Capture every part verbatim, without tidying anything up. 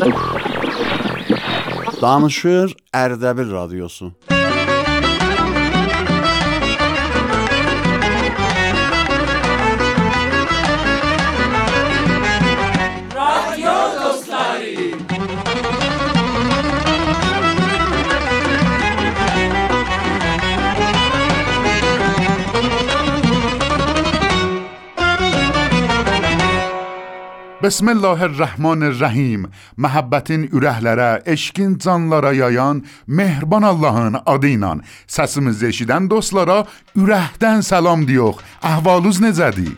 Danışır Ərdəbil Radiosu. Bismillahirrahmanirrahim. Məhəbbətin ürəklərə, eşqin canlara yayan mehriban Allahın adı ilə səsimizi eşidən dostlara ürəkdən salam deyirik. Əhvalınız necədir?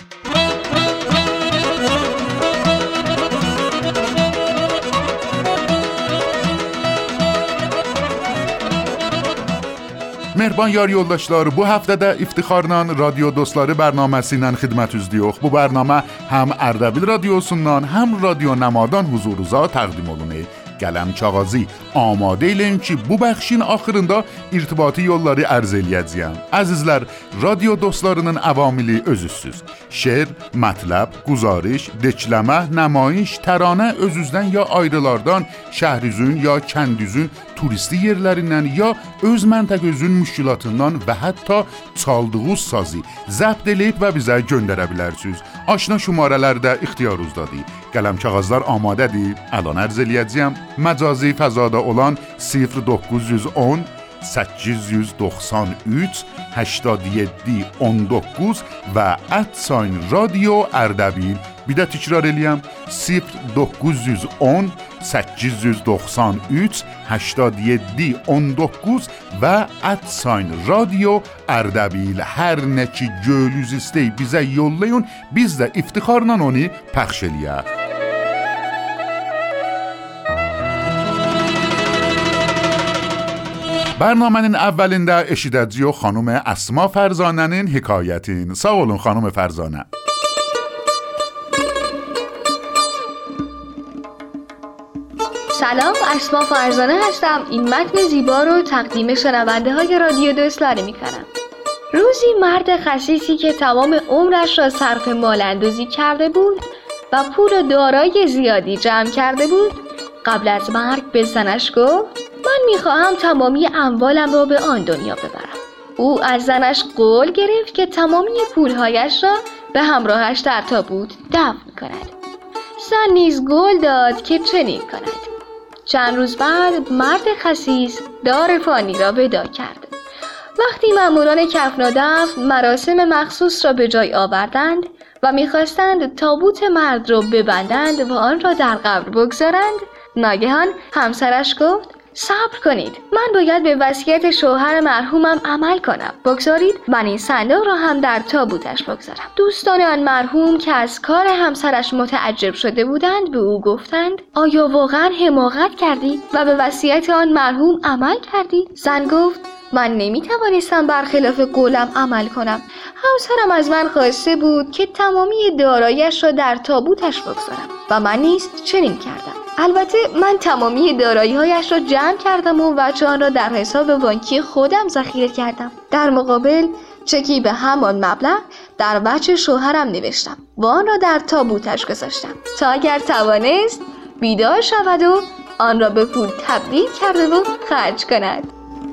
Mehriban yar yoldaşlar, bu həftədə iftixarla Radyo Dostları bərnaməsi ilə xidmətinizdəyik. Bu bərnamə həm Ərdəbil Radiosundan, həm Radyo Nəmadan huzurunuza təqdim olunur. Qələm kağızı amadə eləyin ki, bu bəxşin axırında irtibati yolları ərz eləyəcəyəm. Əzizlər, Radyo Dostlarının əvamili özüzsüz. Şeir, mətləb, guzarış, dekləmə, nəmayiş, təranə özüzdən ya ayrılardan, şəhrizün ya kəndüzün turisti yerlərindən ya öz məntəqəzün müşkilatından və hətta çaldığınız sazı zəbt eləyib və bizə göndərə bilərsiniz. Aşna şumarələr də ixtiyarınızdadır. Qələm kağızlar amadədir. Əlan ərz eləyəcəyəm. Məcazi fəzada olan sıfır doqquz yüz on səkkiz yüz doxsan üç هشتاد و هفت on dokuz və @sign radio Ərdəbil. Bir də təkrar eləyəm. sıfır doqquz yüz on səkkiz yüz doxsan üç هشتاد و هفت on dokuz və @sign radio Ərdəbil. Hər nə ki gönlünüz istəyir bizə yollayın, biz də iftixarla onu pəxş eləyək. برنامه‌nin əvvəlində eşidəcəyik xanım Əsma Fərzanənin hekayətini. Sağ olun xanım Fərzanə. سلام، اسما فرزانه هستم. این متن زیبا رو تقدیم شنونده های رادیو دوستلاری میکنم. روزی مرد خسیسی که تمام عمرش را صرف مال اندوزی کرده بود و پول و دارایی زیادی جمع کرده بود، قبل از مرگ به زنش گفت من میخواهم تمامی اموالم را به آن دنیا ببرم. او از زنش قول گرفت که تمامی پولهایش را به همراهش در تابوت دفن کند. زن نیز قول داد که چنین کند. چند روز بعد مرد خسیس دار فانی را ودا کرد. وقتی ماموران کفن و دفن مراسم مخصوص را به جای آوردند و میخواستند تابوت مرد را ببندند و آن را در قبر بگذارند، ناگهان همسرش گفت صبر کنید، من باید به وصیت شوهر مرحومم عمل کنم. بگذارید من این صندوق را هم در تابوتش بگذارم. دوستان آن مرحوم که از کار همسرش متعجب شده بودند به او گفتند آیا واقعا حماقت کردی و به وصیت آن مرحوم عمل کردی؟ زن گفت من نمیتوانستم برخلاف قولم عمل کنم. همسرم از من خواسته بود که تمامی داراییش را در تابوتش بگذارم و من نیز چنین کردم. البته من تمامی دارایی‌هایش را جمع کردم و وجه آن را در حساب بانکی خودم ذخیره کردم. در مقابل چکی به همان مبلغ در وجه شوهرم نوشتم و آن را در تابوتش گذاشتم تا اگر توانست بیدار شود و آن را به پول تبدیل کرده و خرج کند.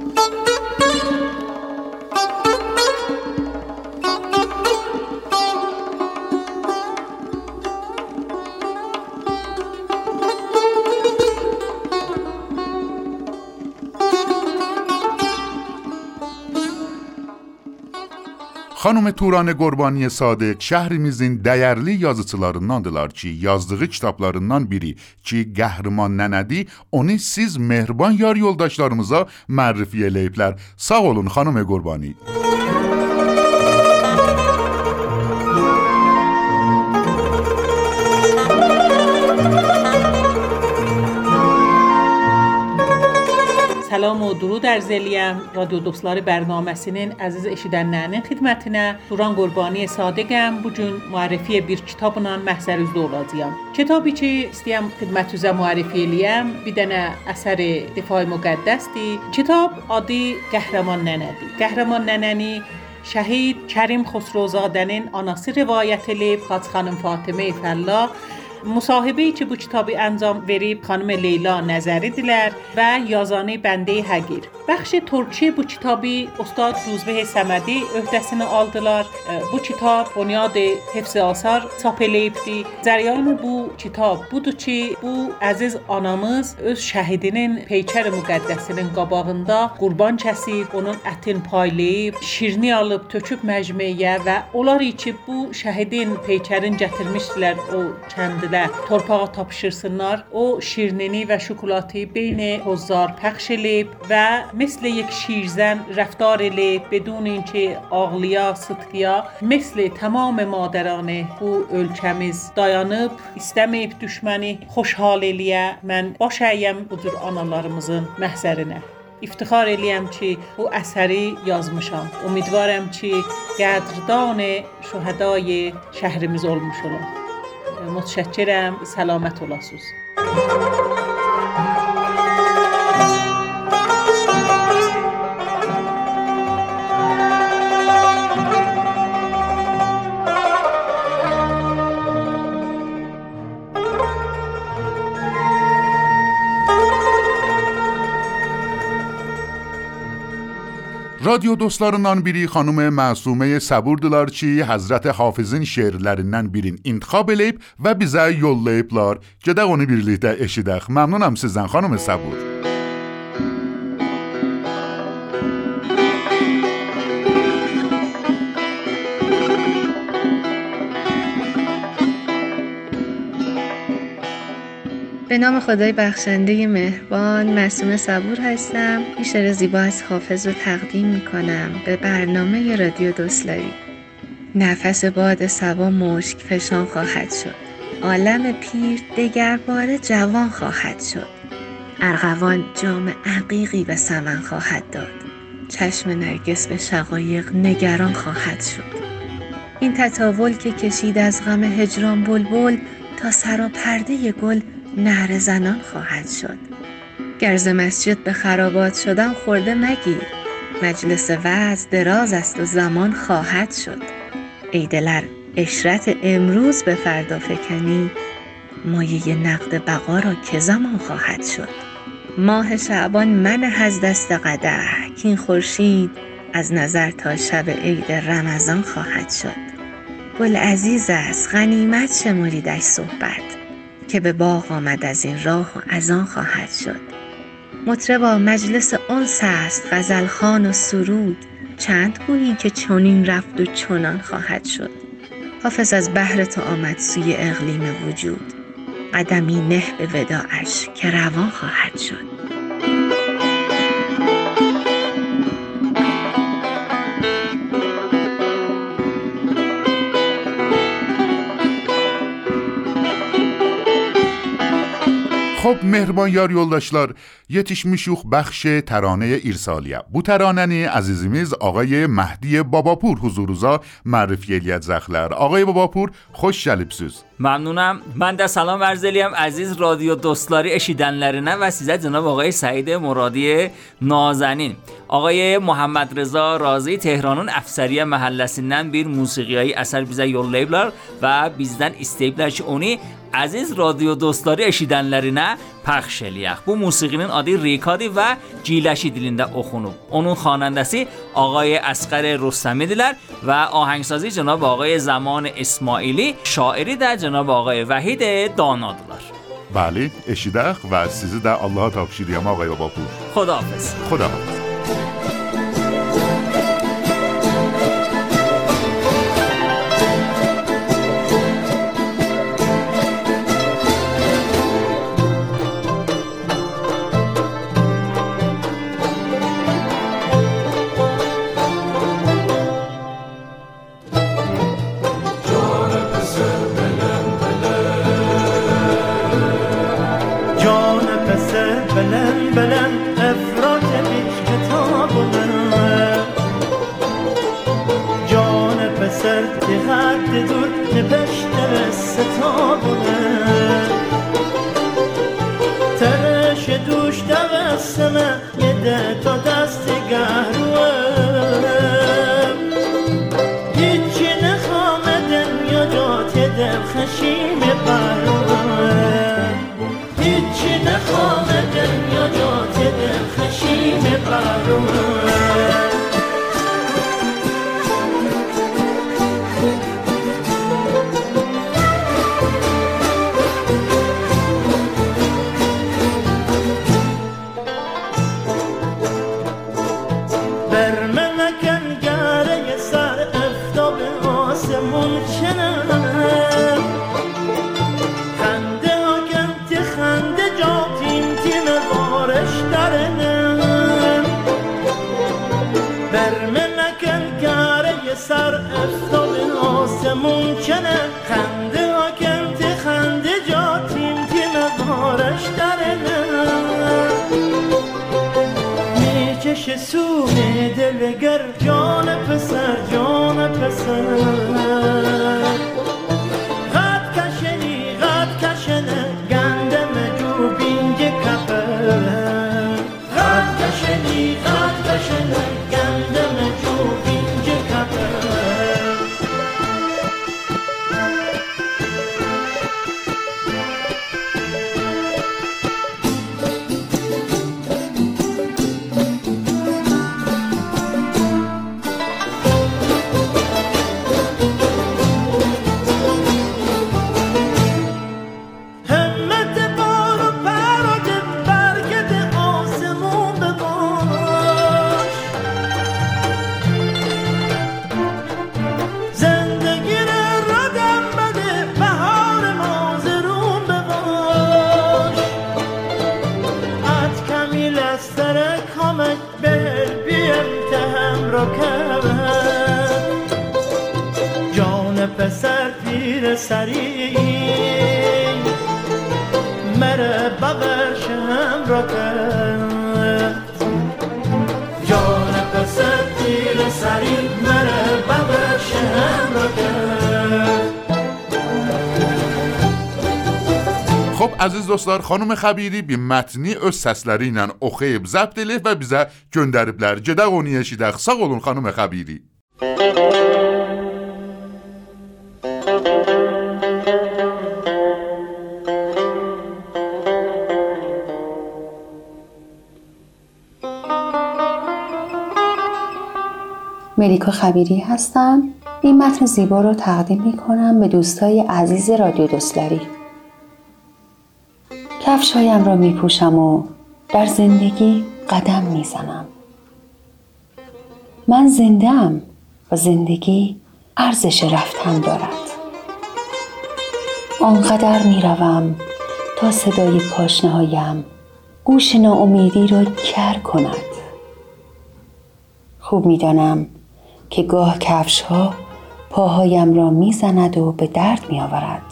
Xanım Turanə Qurbaniyə Sadiq şəhrimizin dəyərli yazıçılarındandılar ki, yazdığı kitablarından biri ki, Qəhrəman Nənədir, onu siz mehriban yar yoldaşlarımıza mərrifi eləyiblər. Sağ olun xanım Qurbani. Salam و درود عرض eləyəm رادیو دوستları bərnaməsinin əziz eşidənlərinin xidmətinə. Turan Qurbani Sadiqəm. Bu gün müərrifi bir kitabla məhzərinizdə olacağam. Kitabı ki, istəyəm xidmətinizə müərrifi eləyəm. Bir dənə əsəri Difai Müqəddəsdir. Kitab adı Qəhrəman Nənədir. Qəhrəman Nənəni şəhid Kərim Xosrowzadənin anası rivayət edib, Xaç xanım Fatimə Fəllah مصاحبه‌ای که bu kitabı انجام verib xanım Leyla Nəzəridirlər və yazanı Bəndə Həqir. Bəxş Türkçe bu kitabı Ustad Ruzbeh Səmədi öhdəsinə aldılar. Bu kitab Bunyad Hifz Asar çap eləyibdi. Cərəyan bu kitab budur ki, bu əziz anamız öz şəhidinin peykər müqəddəsinin qabağında qurban kəsib, onun ətin paylayıb, şirini alıb töküb məcmeyə və onlar ki bu şəhidin peykərin gətirmişdilər o kəndilə torpağa tapışırsınlar. O şirinini və şokolatı beyni hozar pəxş eləyib və مثل یک شیرزن رفتار eləyib بدون اینکه ağlıya, sıtqıya مثل tamam مادران bu ölkəmiz dayanıb istəməyib düşməni xoşhal eləyə. Mən baş əyəm bu cür analarımızın məhzərinə. İftixar eləyəm ki bu əsəri yazmışam. Ümidvaram ki qədrdan şühədای şəhrimiz olmuş olar. Mütəşəkkirəm, səlamət olasınız. رادیو dostlarından biri xanım Məsumə Səburdlar ki, Həzrət Hafizin şeirlərindən birini intikhab eləyib və bizə yollayıblar. Gedək onu birlikdə eşidək. Məmnunam sizdən xanım Səbur. به نام خدای بخشنده مهربان، معصومه صبور هستم. این شعر زیبا از حافظ رو تقدیم میکنم به برنامه رادیو دوستلاری. نفس باد صبا مشک فشان خواهد شد، عالم پیر دگرباره جوان خواهد شد. ارغوان جام عقیقی به سمن خواهد داد، چشم نرگس به شقایق نگران خواهد شد. این تطاول که کشید از غم هجران بلبل، تا سراپرده گل نعره زنان خواهد شد. گرز مسجد به خرابات شدن خورده مگیر، مجلس وعظ دراز است و زمان خواهد شد. ای دلر عشرت امروز به فردا فکنی، مایه نقد بقا را که زمان خواهد شد. ماه شعبان منه از دست قدح، کین خورشید از نظر تا شب عید رمضان خواهد شد. گل عزیز است غنیمت شمریدش صحبت، که به باغ آمد از این راه و از آن خواهد شد. مطربا مجلس انس است غزلخوان و سرود، چند گویی که چنین رفت و چنان خواهد شد. حافظ از بحر تو آمد سوی اقلیم وجود، قدمی نه به وداعش که روان خواهد شد. خب mehriban yar yoldaşlar, yetişmişik bəxş təranəyə irsaliyə. Bu təranəni əzizimiz Ağay Məhdi Babapur huzuruza mərifə eləyəcəklər. Ağay Babapur, xoş gəlibsiz. ممنونم. من در سلام عرض eləyəm عزیز رادیو دوستلاری eşidənlərinə və sizə cənab آقای سعید مرادی نازنین. آقای محمد رضا رازی Tehranın Əfsəriyyə məhəlləsindən bir musiqiyyi əsər bizə yollayıblar və bizdən istəyiblər ki, onu aziz رادیو دوستلاری eşidənlərinə پخش eləyək. Bu musiqinin adı ریکادی və Ciləşi dilində oxunub. Onun xanəndəsi آقای اصغر رستمیdirlər və ahəngsazi cənab آقای زمان اسماعیلی، şairi də cənab آقای وحید دانادırlar. Bəli, eşidək və sizi də Allaha tapşırıram Ağay Babapur. خداحافظ. خداحافظ. خشیم بر نخوام دنیا جات دل خشیم بارونه سر افتاب آسمون کنه خنده ها کمت خنده جا تیم تیم بارش درنه میکشه سوم دلگر جان پسر جان پسر غد کشنی غد کشنه گنده مجو بینگ کپر غد کشنی غد کشنه گنده مجو بینگ کپر پسر پیر سری مره بغش هم را کرد جان پسر پیر سری مره بغش هم را کرد. خب aziz dostlar, xanım Xəbiri bir mətni öz səsləri ilə oxuyub zəbt edib və bizə göndəriblər. Gedək onu eşidək. Sağ olun xanım Xəbiri. ملیکا خبیری هستم. این متن زیبا رو تقدیم میکنم به دوستای عزیز رادیو دوستلری. کفشایم را میپوشم و در زندگی قدم میزنم. من زنده‌ام و زندگی ارزش رفتن دارد. آنقدر میروم تا صدای پاشنه‌هایم گوش ناامیدی را کر کند. خوب میدانم که گاه کفش ها پاهایم را میزند و به درد میآورد،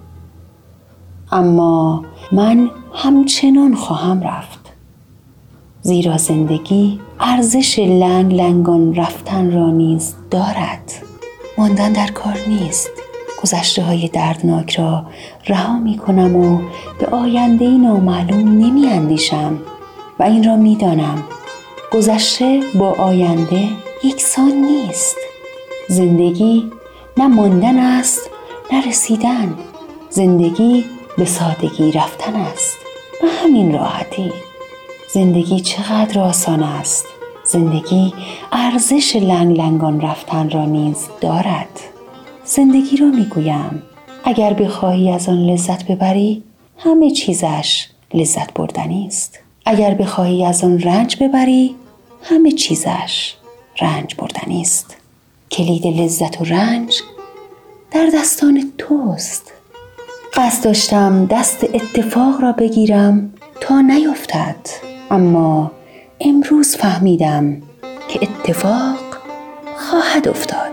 اما من همچنان خواهم رفت، زیرا زندگی ارزش لنگ لنگان رفتن را نیز دارد. ماندن در کار نیست. گذشته های دردناک را رها می کنم و به آینده نامعلوم نمی اندیشم و این را می دانم گذشته با آینده یکسان نیست. زندگی نه ماندن است نه رسیدن. زندگی به سادگی رفتن است، به همین راحتی. زندگی چقدر آسان است. زندگی ارزش لنگ لنگان رفتن را نیز دارد. زندگی را میگویم اگر بخواهی از آن لذت ببری، همه چیزش لذت بردنی است. اگر بخواهی از آن رنج ببری، همه چیزش رنج بردنی است. کلید لذت و رنج در دستان توست. قصد داشتم دست اتفاق را بگیرم تا نیفتد، اما امروز فهمیدم که اتفاق خواهد افتاد.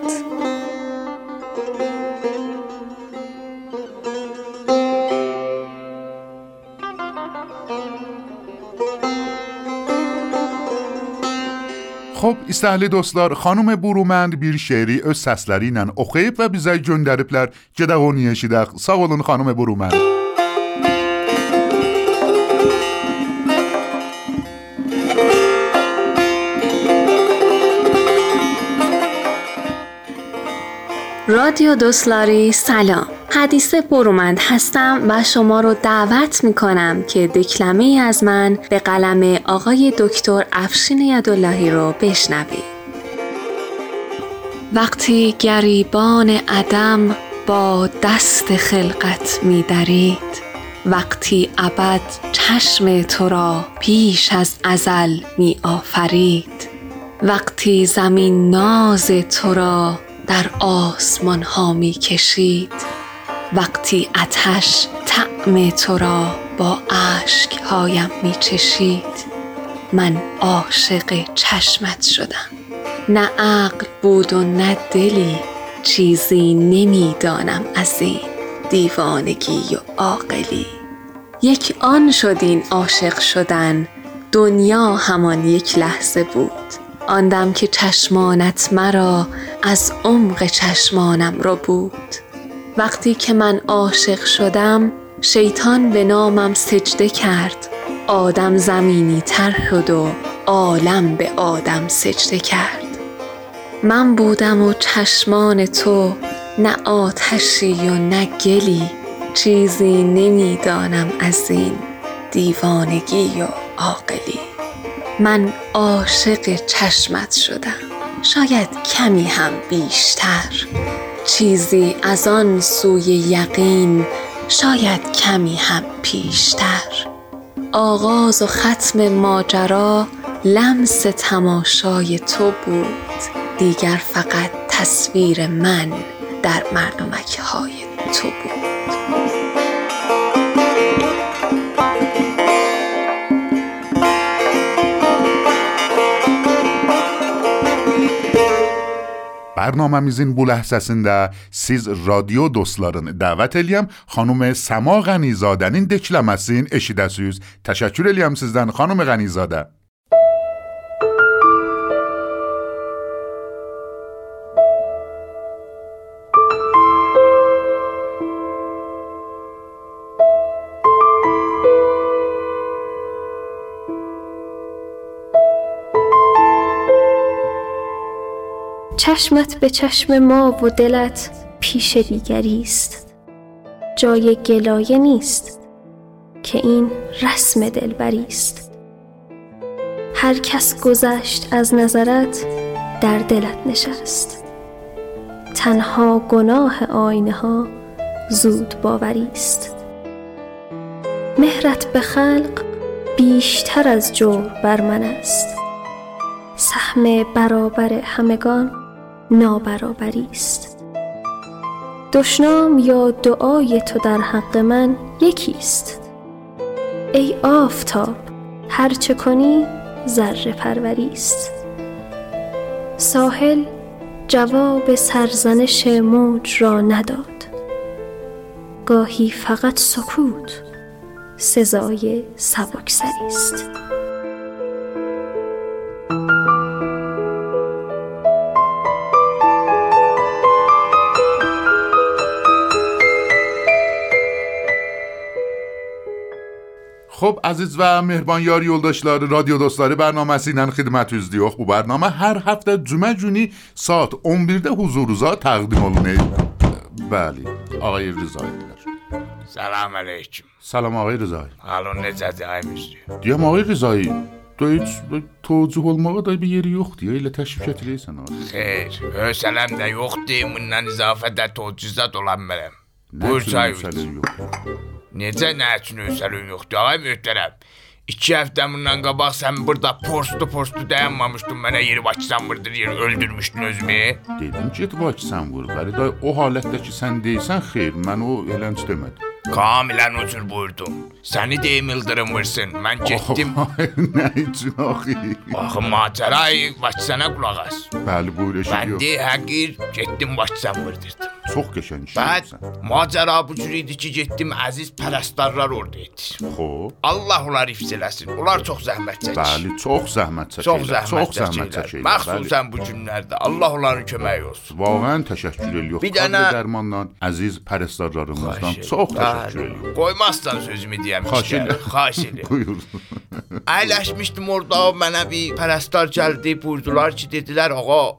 Xo'p, istəkli dostlar, xanım Burumənd bir şeiri öz səsləri ilə oxuyub və bizə göndəriblər. Gedək onu eşidək. Sağ olun xanım Burumənd. رادیو دوستلاری سلام. حدیثه برومند هستم و شما رو دعوت میکنم که دکلمه از من به قلم آقای دکتر افشین یداللهی رو بشنوید. وقتی گریبان عدم با دست خلقت می‌درید، وقتی ابد چشم تو را پیش از ازل می آفرید، وقتی زمین ناز تو را در آسمان ها می کشید، وقتی آتش طعم تو را با اشک هایم می چشید، من عاشق چشمت شدم. نه عقل بود و نه دلی، چیزی نمی دانم از این دیوانگی و عاقلی. یک آن شد این عاشق شدن، دنیا همان یک لحظه بود. آن دم که چشمانت مرا از عمق چشمانم رو بود. وقتی که من عاشق شدم، شیطان به نامم سجده کرد. آدم زمینی تر شد و عالم به آدم سجده کرد. من بودم و چشمان تو، نه آتشی و نه گلی، چیزی نمیدانم از این دیوانگی و عاقلی. من عاشق چشمت شدم، شاید کمی هم بیشتر، چیزی از آن سوی یقین، شاید کمی هم پیشتر. آغاز و ختم ماجرا لمس تماشای تو بود، دیگر فقط تصویر من در مردمک های تو بود. Bərnamemizin bu ləhzəsində siz radio dostlarını dəvət eləyəm, xanım Səma Qənizadənin dekləməsini eşidəsiniz. Təşəkkür eləyəm sizdən, xanım Qənizadə. چشمت به چشم ما و دلت پیش دیگری است. جای گلایه نیست که این رسم دلبری است. هر کس گذشت از نظرت در دلت نشست. تنها گناه آینه ها زود باوری است. مهرت به خلق بیشتر از جور بر من است. سهم برابر همگان نابرابری است. دشنام یا دعای تو در حق من یکی است. ای آفتاب، هر چه کنی ذره پروری است. ساحل جواب سرزنش موج را نداد. گاهی فقط سکوت سزای سبکسری است. خب عزیز و mehriban yar yoldaşları, radyo dostları bərnaməsi ilə xidmətinizdə. Bu bərnamə hər həftə cümə günü saat on birdə huzurunuza təqdim olunur. Bəli, ağay Rızaydılar. Salam aleyküm. Salam ağay Rızay. Halın necədir ay müzdü? Deyəm ağay Rızay, da heç tocuq olmağa da bir yeri yoxdur, elə təşvik edirsən ağay. Xeyr, hösələm də yoxdur, bundan izafədə tocuzat olan mənəm. Buyur çay üstü. Necə nə üçün hösəlin yoxdur ağay möhtərəm? İki həftə bundan qabaq sən burada postu postu dayanmamışdın, mənə yeri Bakısan vurdur, yeri öldürmüşdün özümü. Dedim ki, Bakısan vur, bəli day o halətdə ki sən deysən, xeyr, mən o elənç demədim. Kamilən ucur buyurdum. Səni deyim ildırım vursun, mən getdim. Nə üçün axı? Axı macərayı Bakısana qulaq as. Bəli, buyur eşidiyor. Bəndi həqir getdim Bakısan vurdurdum. Çox qəşəng iş edirsən. Macəra bu cür idi ki, getdim əziz pərəstarlar orada idi. Xoş. Allah onları hifz eləsin. Onlar çox zəhmət çəkir. Bəli, çox zəhmət çəkirlər. Çox zəhmət çəkirlər. çəkirlər. Məxsusən bu günlərdə. Allah onların köməyi olsun. Vağən təşəkkür edirik. Bir dənə dərmandan əziz pərəstarlarımızdan çox təşəkkür edirik. Qoymazsan sözümü deyəm. Xahiş edirəm. Buyur. Əyləşmişdim orada, mənə bir pərəstar gəldi, buyurdular ki, dedilər, ağa,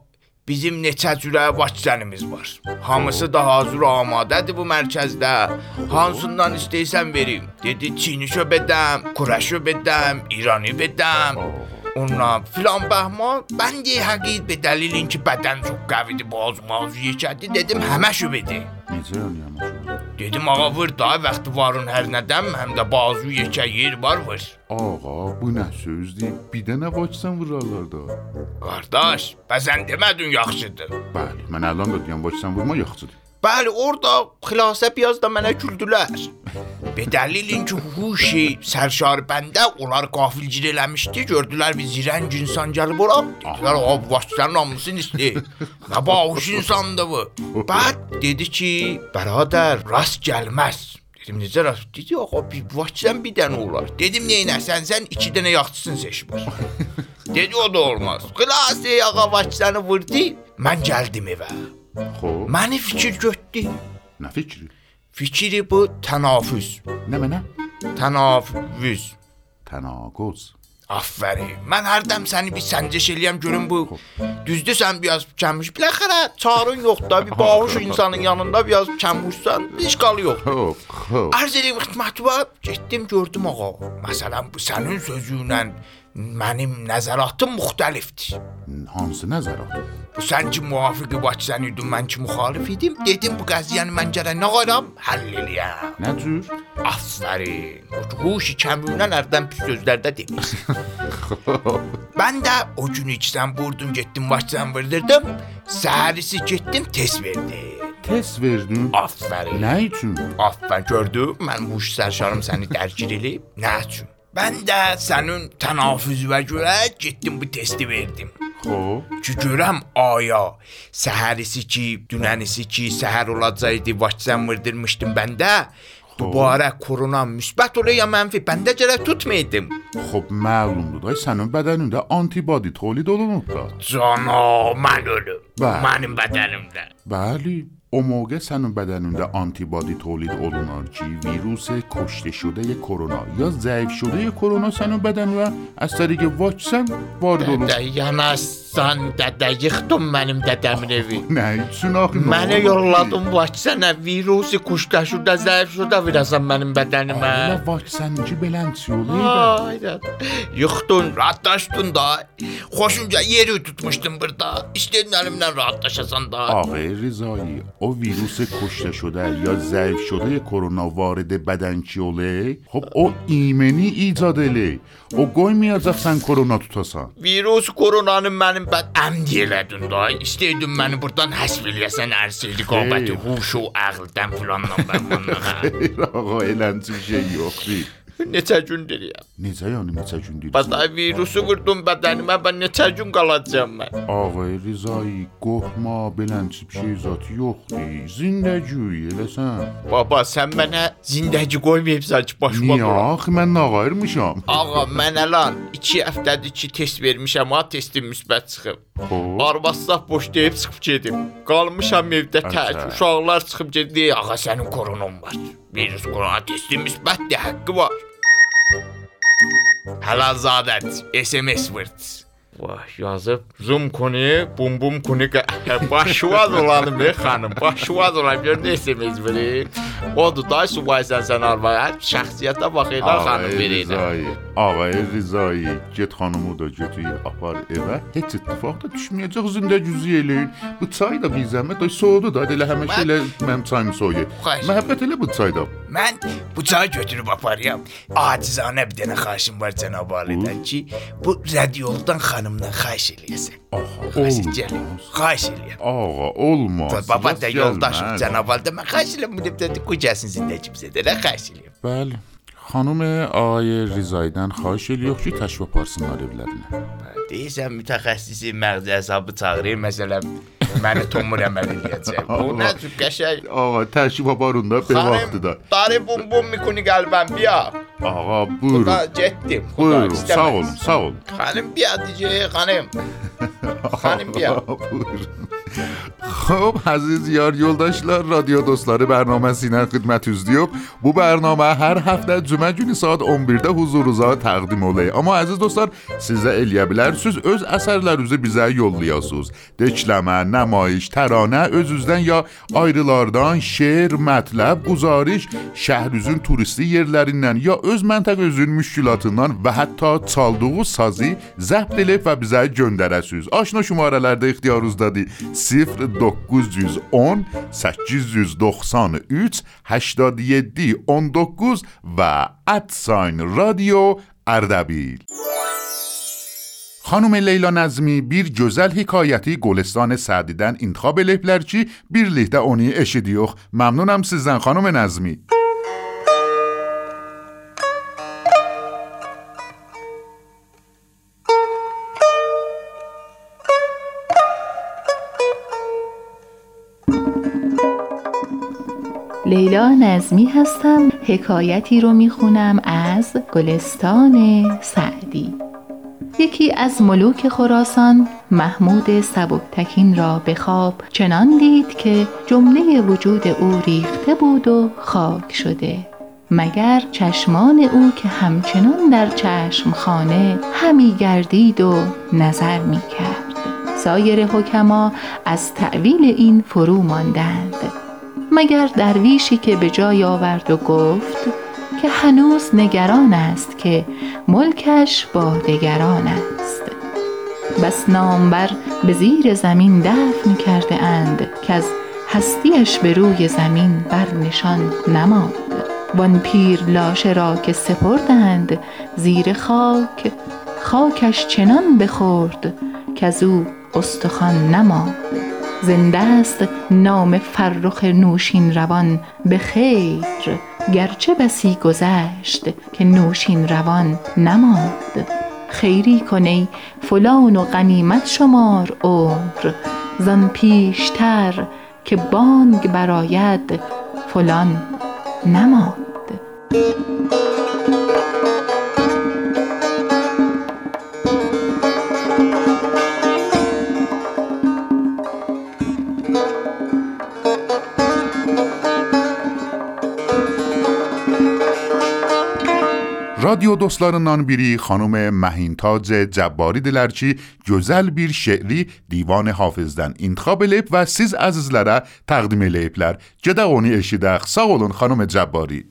bizim neçə cürə vaksənimiz var. Hamısı da hazır amadədir bu mərkəzdə. Hansından istəyirsən verim. Dedi Çinişo bedəm, Kurəşo bedəm, İrani bedəm. Ondan filan bəhman. Ben de həqiqət be dəlilin ki bədən çox qəvidir, boğaz mağazı yekədir. Dedim həməşo bedi. Necə yəni həməşo? Dedim ağa vır da vaxtı varın hər nədəm, həm də bazı yekə yer var vır. Ağa bu nə sözdür? Bir dənə vaksin vurarlar da. Qardaş, bəzən demədin yaxşıdır. Bəli, mən əlan da deyəm vaksin vurma yaxşıdır. Bəli, orada xilasə piyaz da mənə güldülər. Be dəlilin ki, huşi sərşar bəndə onlar qafilcir eləmişdi, gördülər bir zirəng insan gəlib ora. Dedilər, ağa bu vaksinlərin hamısını istəyir. Nə bağış insandır bu. Bəd dedi ki, bərədər, rast gəlməz. Dedim, necə rast? Dedi, ağa bir vaksin bir dənə olar. Dedim, neynəsən, sən iki dənə yaxçısın seçmir. Dedi, o da olmaz. Xilasə ağa vaksinəni vurdu, mən gəldim evə. Xoş. Məni fikir götdü. Nə fikri? Fikri bu tənafüz. Nə mənə? Tənafüz. Tənaquz. Aferin. Mən hərdən səni bir səncəş eləyəm görüm bu. Düzdür sən biraz kəmmiş. Biləxərə çarın yoxdur da bir bağış insanın yanında biraz kəmmişsən. İşqalı yoxdur. Arz eləyim xidməti var. Getdim gördüm ağa. Məsələn bu sənin sözüylə mənim nəzəratım müxtəlifdir. Hansı nəzərat? Bu sən ki müvafiqi vaksin idin, mən ki müxalif idim. Dedim bu qəziyyəni mən gərək nə qaram? Həll eləyəm. Nə cür? Aferin. Huşi kəmiyondan ərdən pis sözlərdə demiş. Ben de o gün içten vurdum getdim vaksin vurdurdum. Səhərisi getdim test verdim. Test verdin? Aferin. Nə üçün? Aferin gördüm. Mən huş sərşarım səni dərkir eləyib. Nə üçün? Ben de sənin tənafüzüvə görə getdim bu testi verdim. Xoş. Ki görəm aya səhərisi ki, dünənisi ki, səhər olacaqdı vaksin vurdurmuşdum bəndə. Dubarə korona müsbət olur ya mənfi, bəndə gərək tutmaydım. Xob məlumdur da sənin bədənində antibody tolid olunub da. Cana, mən ölüm. Bəli. Mənim bədənimdə. Bəli. O موقع sənin bədənində antibody tolid olunar ki, virus کشته شده کرونا یا ضعیف شده کرونا sənin bədəninə از طریق vaksin vard olur. Dədə yanaşsan, dədə yıxdın mənim dədəmin evi. Nə üçün axı? Mənə yolladın vaksinə, virusu kuşda şurada zəif şurada virasan mənim bədənimə. Elə vaksinci belənçi olur. Ayda. Yıxdın, rahatlaşdın da. Xoşunca yeri tutmuşdun burada. İstədin əlimdən rahatlaşasan da. آقای رضایی او ویروس کشته شده یا ضعیف شده کرونا وارد بدن چی oله خب o ایمنی ایجاد eyle o qoymayacaqsan korona tutasan virus koronanın mənim bəd əmd elədin da istəydin məni buradan həsb eləyəsən ərsiydi qabəti huşu əqldən filandan bərmandan Xeyr ağa elənci bir şey yoxdur Neçə gün deyirəm Necə yəni neçə gün deyirəm Bədə virusu vurdum bədənimə ben neçə gün qalacağım mən Ağay Rizai qorxma belənci bir şey zat yoxdur zindəgi eləsən Baba sən mənə zindəgi qoymayıbsan ki başıma Niyə axı mən nağayırmışam Ağa mən əlan iki həftədir ki test vermişəm ha testim müsbət çıxıb Arvaslah boş deyib çıxıb gedim Qalmışam evdə tək uşaqlar çıxıb gedir Ağa sənin koronan var Virus korona testim müsbətdir haqqı var Həlazadət S M S vırd Vah yazıb zoom konu bum bum konu başvaz olanım be xanım başvaz olan göründə S M S verir Odur da subaysan sən arvaya şəxsiyyətə bax elə xanım verir Ağay Rizai get xanımı da götür apar evə heç ittifaq da düşməyəcək zində cüzi eləyin bu çay da bir zəhmət ay soğudu da elə həmişə elə mənim çayımı soğuyur məhəbbət elə bu çayda Mən bu çayı götürüb aparıyam acizanə bir dənə xahişim var cənab alidən ki bu radioldan xanımdan xahiş eləyəsən Xahiş eləyəm Ağa olmaz Baba da yoldaşım cənab alidə mən xahiş eləyəm bu dəftədə qoy gəlsin zindəcimizə də xahiş eləyəm Bəli Xanım ağay Rizaidən xahiş eləyirik ki təşrif aparsınlar evlərinə Deyirsən mütəxəssisi məğzi hesabı çağırır məsələn məni tomur əməl eləyəcək Bu nə cür qəşəng Ağa təşrif aparın da bir vaxtı da Darı bum bum mikuni qəlbəm biya Ağa buyurun Xuda getdim Buyurun sağ olun sağ olun Xanım biya deyəcək xanım Xanım biya Buyurun خب عزیز yar yoldaşlar, radyo dostları bərnaməsindən xidmətinizdəyik. Bu bərnamə hər həftə cümə günü saat on birdə huzurunuza təqdim olay. Amma əziz dostlar, siz də eləyə bilərsiniz, öz əsərlərinizi bizə yollayasınız. Dekləmə, nəmayiş, təranə, özünüzdən ya ayrılardan, şeir, mətləb, guzariş, şəhrinizin turisti yerlərindən ya öz məntəqənizin müşkülatından və hətta çaldığı sazı zəbt edib və bizə göndərəsiniz. Aşna şumarələrdə ixtiyarınızdadır. صفر dokuz on səkkiz doxsan üç هشتاد و هفت on dokuz və @sign radio Ardabil. Xanım Leyla Nəzmi bir gözəl hekayəti Golestan Sədidən intikhab eləyiblər ki, birlikdə onu eşidiyox. Məmnunam sizdən xanım Nəzmi. لیلا نظمی هستم. حکایتی رو میخونم از گلستان سعدی. یکی از ملوک خراسان محمود سبکتکین را به خواب چنان دید که جمله وجود او ریخته بود و خاک شده، مگر چشمان او که همچنان در چشمخانه همی گردید و نظر میکرد. سایر حکما از تأویل این فرو ماندند، مگر درویشی که به جای آورد و گفت که هنوز نگران است که ملکش با دگران است. بس نامبر به زیر زمین دفن کرده اند که از هستیش به روی زمین بر نشان نماند. وان پیر لاشه را که سپردند زیر خاک، خاکش چنان بخورد که از او استخوان نماند. زنده است نام فرخ نوشین روان به خیر، گرچه بسی گذشت که نوشین روان نماند. خیری کنی فلان و غنیمت شمار عمر، زان پیشتر که بانگ براید فلان نماند. رادیو dostlarından biri xanım Məhintac Cəbbaridirlər ki, gözəl bir şeiri divan Hafizdən intikhab eləyib və siz əzizlərə təqdim eləyiblər. Gedək onu eşidək. Sağ olun xanım Cəbbari.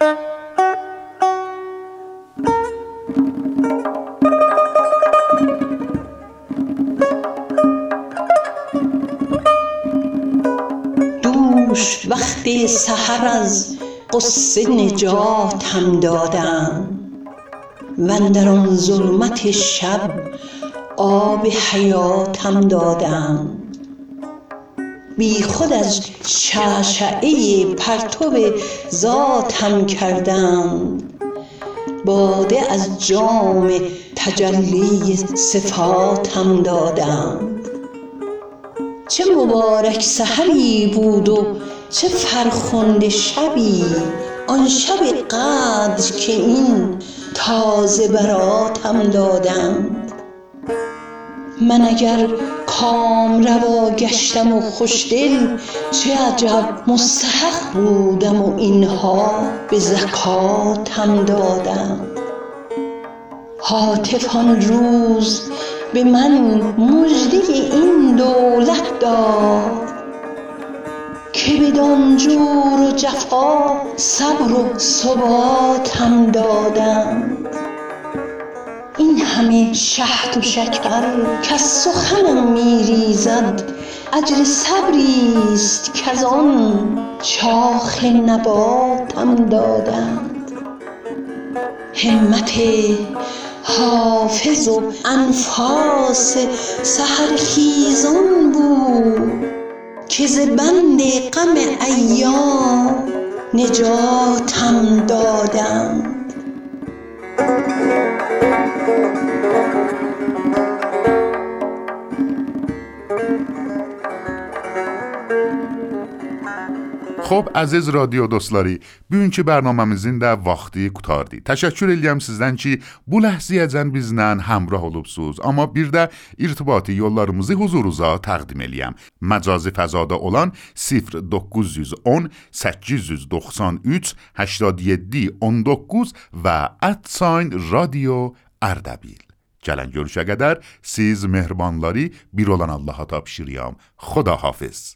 دوش وقتی سحر از قصه نجاتم دادم، واندر آن ظلمت شب آب حیاتم دادم. بی خود از شعشعه پرتو ذاتم کردم، باده از جام تجلی صفاتم دادم. چه مبارک سحری بود و چه فرخنده شبی، آن شب قدر که این تازه براتم دادند. من اگر کام روا گشتم و خوشدل، چه عجب مستحق بودم و اینها به زکاتم دادند. هاتف آن روز به من مژده این دولت داد، که بدان جور و جفا صبر و ثباتم دادند. این همه شهد و شکر که سخنم میریزد، اجر صبریست که از آن شاخ نباتم دادند. همت حافظ و انفاس سحرخیزان بود، که ز بند غم ایام نجاتم دادند. خب əziz radio dostları, bugünkü bərnaməmizin də vaxtı qutardı. Təşəkkür edirəm sizdən ki, bu ləhzəyəcən bizlə həmrah olubsuz. Amma bir də irtibati yollarımızı huzurunuza təqdim eləyəm. Məcazi fəzada olan sıfır doqquz yüz on səkkiz yüz doxsan üç هشتاد و هفت on doqquz və @sign radio Ardabil. Gələn görüşə qədər siz mehribanları bir olan Allaha tapşırıram. Xudahafiz.